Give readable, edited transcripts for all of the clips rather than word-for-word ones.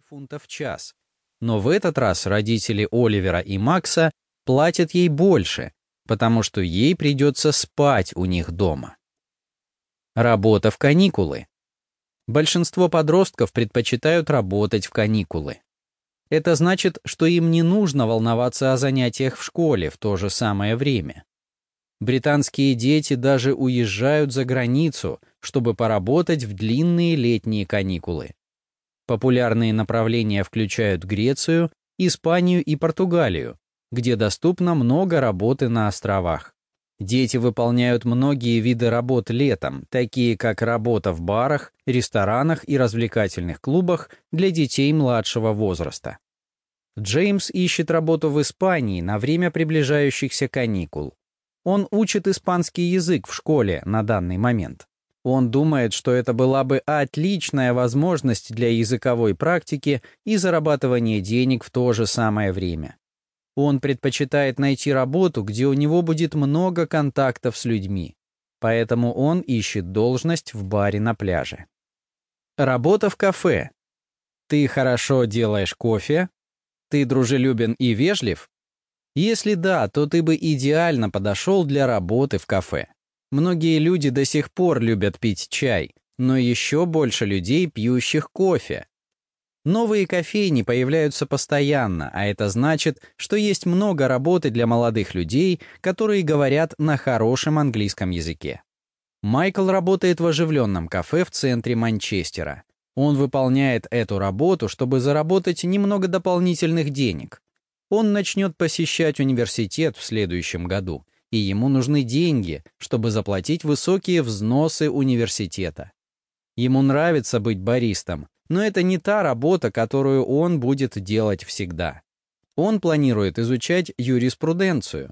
фунтов в час. Но в этот раз родители Оливера и Макса платят ей больше, потому что ей придется спать у них дома. Работа в каникулы. Большинство подростков предпочитают работать в каникулы. Это значит, что им не нужно волноваться о занятиях в школе в то же самое время. Британские дети даже уезжают за границу, чтобы поработать в длинные летние каникулы. Популярные направления включают Грецию, Испанию и Португалию, где доступно много работы на островах. Дети выполняют многие виды работ летом, такие как работа в барах, ресторанах и развлекательных клубах для детей младшего возраста. Джеймс ищет работу в Испании на время приближающихся каникул. Он учит испанский язык в школе на данный момент. Он думает, что это была бы отличная возможность для языковой практики и зарабатывания денег в то же самое время. Он предпочитает найти работу, где у него будет много контактов с людьми. Поэтому он ищет должность в баре на пляже. Работа в кафе. Ты хорошо делаешь кофе? Ты дружелюбен и вежлив? Если да, то ты бы идеально подошел для работы в кафе. Многие люди до сих пор любят пить чай, но еще больше людей, пьющих кофе. Новые кофейни появляются постоянно, а это значит, что есть много работы для молодых людей, которые говорят на хорошем английском языке. Майкл работает в оживленном кафе в центре Манчестера. Он выполняет эту работу, чтобы заработать немного дополнительных денег. Он начнет посещать университет в следующем году, и ему нужны деньги, чтобы заплатить высокие взносы университета. Ему нравится быть баристом, но это не та работа, которую он будет делать всегда. Он планирует изучать юриспруденцию.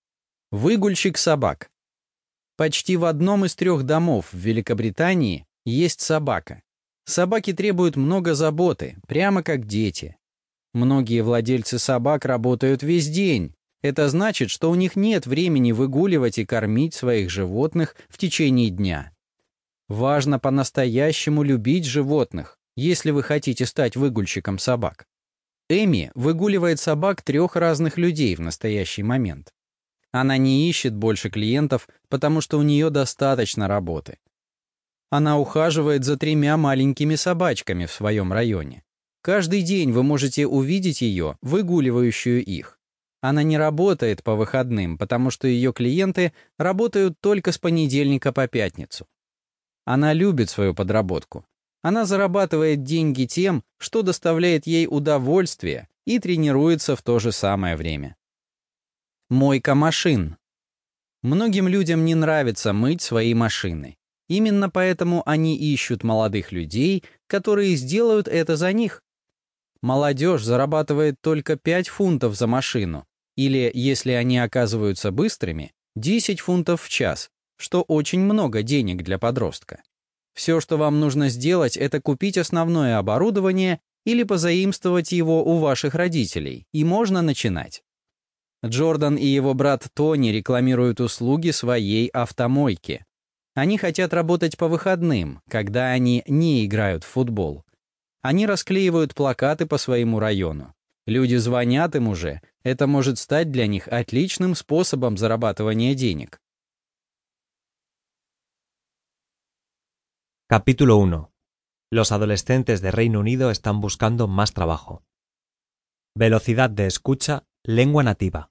Выгульщик собак. Почти в одном из 3 домов в Великобритании есть собака. Собаки требуют много заботы, прямо как дети. Многие владельцы собак работают весь день. Это значит, что у них нет времени выгуливать и кормить своих животных в течение дня. Важно по-настоящему любить животных, если вы хотите стать выгульщиком собак. Эми выгуливает собак 3 разных людей в настоящий момент. Она не ищет больше клиентов, потому что у нее достаточно работы. Она ухаживает за 3 маленькими собачками в своем районе. Каждый день вы можете увидеть ее, выгуливающую их. Она не работает по выходным, потому что ее клиенты работают только с понедельника по пятницу. Она любит свою подработку. Она зарабатывает деньги тем, что доставляет ей удовольствие, и тренируется в то же самое время. Мойка машин. Многим людям не нравится мыть свои машины. Именно поэтому они ищут молодых людей, которые сделают это за них. Молодежь зарабатывает только 5 фунтов за машину, или, если они оказываются быстрыми, 10 фунтов в час, что очень много денег для подростка. Все, что вам нужно сделать, это купить основное оборудование или позаимствовать его у ваших родителей, и можно начинать. Джордан и его брат Тони рекламируют услуги своей автомойки. Они хотят работать по выходным, когда они не играют в футбол. Они расклеивают плакаты по своему району. Люди звонят им уже. Это может стать для них отличным способом зарабатывания денег. Capítulo 1. Los adolescentes de Reino Unido están buscando más trabajo. Velocidad de escucha, lengua nativa.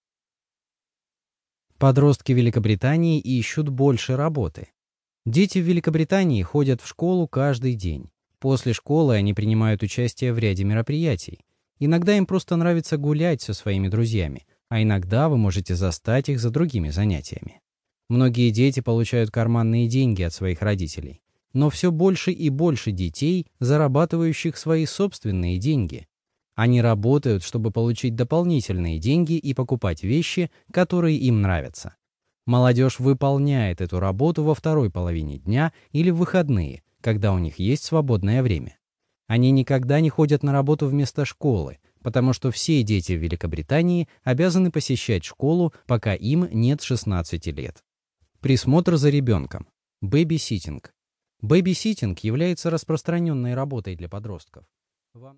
Подростки Великобритании ищут больше работы. Дети в Великобритании ходят в школу каждый день. После школы они принимают участие в ряде мероприятий. Иногда им просто нравится гулять со своими друзьями, а иногда вы можете застать их за другими занятиями. Многие дети получают карманные деньги от своих родителей. Но все больше и больше детей, зарабатывающих свои собственные деньги. Они работают, чтобы получить дополнительные деньги и покупать вещи, которые им нравятся. Молодежь выполняет эту работу во второй половине дня или в выходные, когда у них есть свободное время. Они никогда не ходят на работу вместо школы, потому что все дети в Великобритании обязаны посещать школу, пока им нет 16 лет. Присмотр за ребенком. Бэби-ситинг. Бэби-ситинг является распространенной работой для подростков.